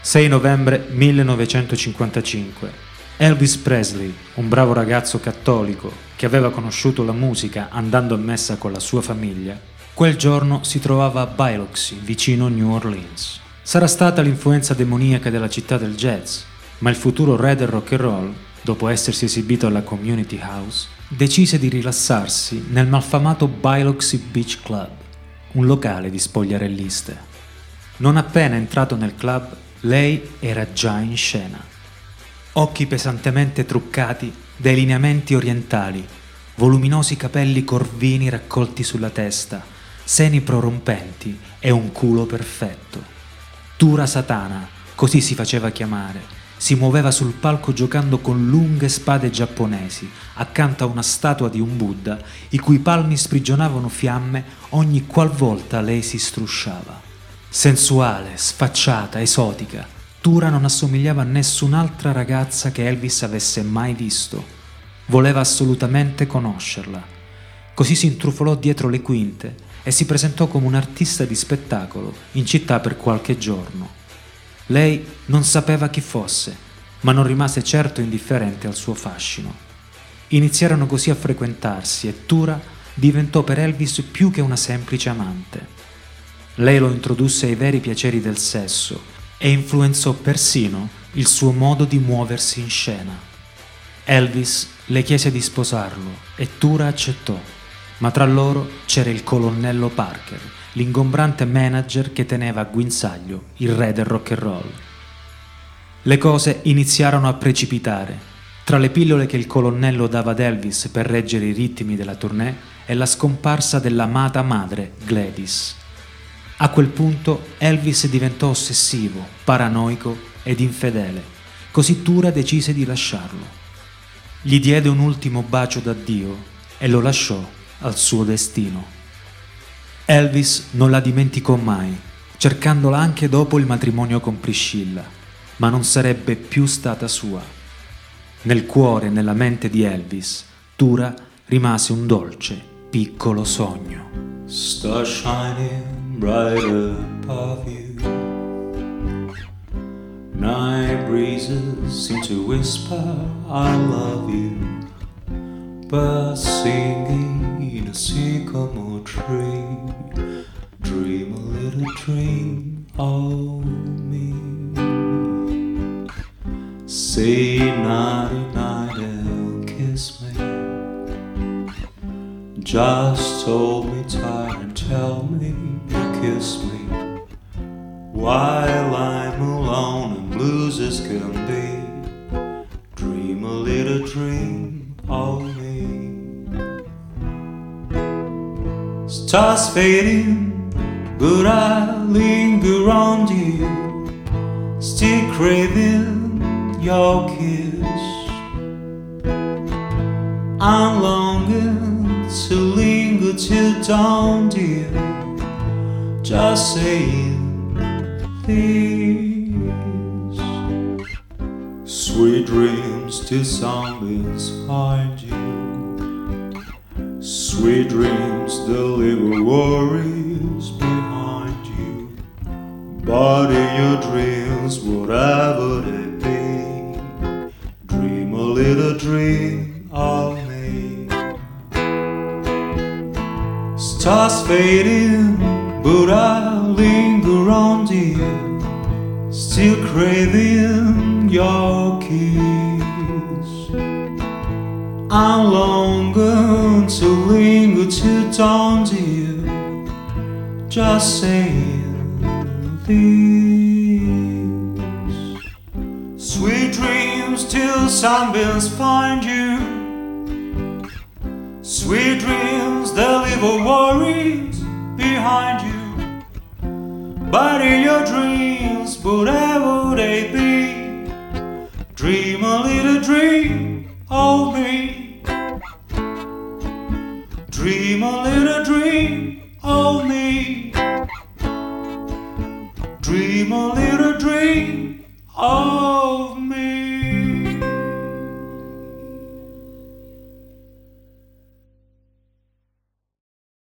6 novembre 1955. Elvis Presley, un bravo ragazzo cattolico che aveva conosciuto la musica andando a messa con la sua famiglia, quel giorno si trovava a Biloxi, vicino New Orleans. Sarà stata l'influenza demoniaca della città del jazz, ma il futuro re del rock and roll, dopo essersi esibito alla Community House, decise di rilassarsi nel malfamato Biloxi Beach Club, un locale di spogliarelliste. Non appena entrato nel club, lei era già in scena. Occhi pesantemente truccati dai lineamenti orientali, voluminosi capelli corvini raccolti sulla testa, seni prorompenti e un culo perfetto. Tura Satana, così si faceva chiamare, si muoveva sul palco giocando con lunghe spade giapponesi accanto a una statua di un Buddha i cui palmi sprigionavano fiamme ogni qualvolta lei si strusciava. Sensuale, sfacciata, esotica, Tura non assomigliava a nessun'altra ragazza che Elvis avesse mai visto. Voleva assolutamente conoscerla. Così si intrufolò dietro le quinte e si presentò come un artista di spettacolo in città per qualche giorno. Lei non sapeva chi fosse, ma non rimase certo indifferente al suo fascino. Iniziarono così a frequentarsi e Tura diventò per Elvis più che una semplice amante. Lei lo introdusse ai veri piaceri del sesso e influenzò persino il suo modo di muoversi in scena. Elvis le chiese di sposarlo e Tura accettò, ma tra loro c'era il colonnello Parker, l'ingombrante manager che teneva a guinzaglio il re del rock and roll. Le cose iniziarono a precipitare. Tra le pillole che il colonnello dava ad Elvis per reggere i ritmi della tournée e la scomparsa dell'amata madre Gladys. A quel punto Elvis diventò ossessivo, paranoico ed infedele, così Tura decise di lasciarlo. Gli diede un ultimo bacio d'addio e lo lasciò al suo destino. Elvis non la dimenticò mai, cercandola anche dopo il matrimonio con Priscilla, ma non sarebbe più stata sua. Nel cuore e nella mente di Elvis, Tura rimase un dolce, piccolo sogno. Star shining brighter above you. Night breezes seem to whisper I love you. Birds singing in a sycamore tree. Dream a little dream of me. Say nighty night and kiss me. Just hold me tight and tell me you kiss me. While I'm alone and blue as can be. Dream a little dream of me. Stars fading, but I linger on you. Still craving your kiss. I'm longing to linger till dawn, dear. Just saying this. Sweet dreams till sunbeams find you. Sweet dreams that leave worries behind you. But in your dreams, whatever they be, dream a little dream of me. Stars fading, but I linger on you, still craving your kiss. I'm longing to linger till dawn, dear, just saying this. Sweet dreams till sunbeams find you. Sweet dreams that leave all worries behind you. But in your dreams, whatever they be, dream a little dream of me. Dream a little dream of me. Dream a little dream of me.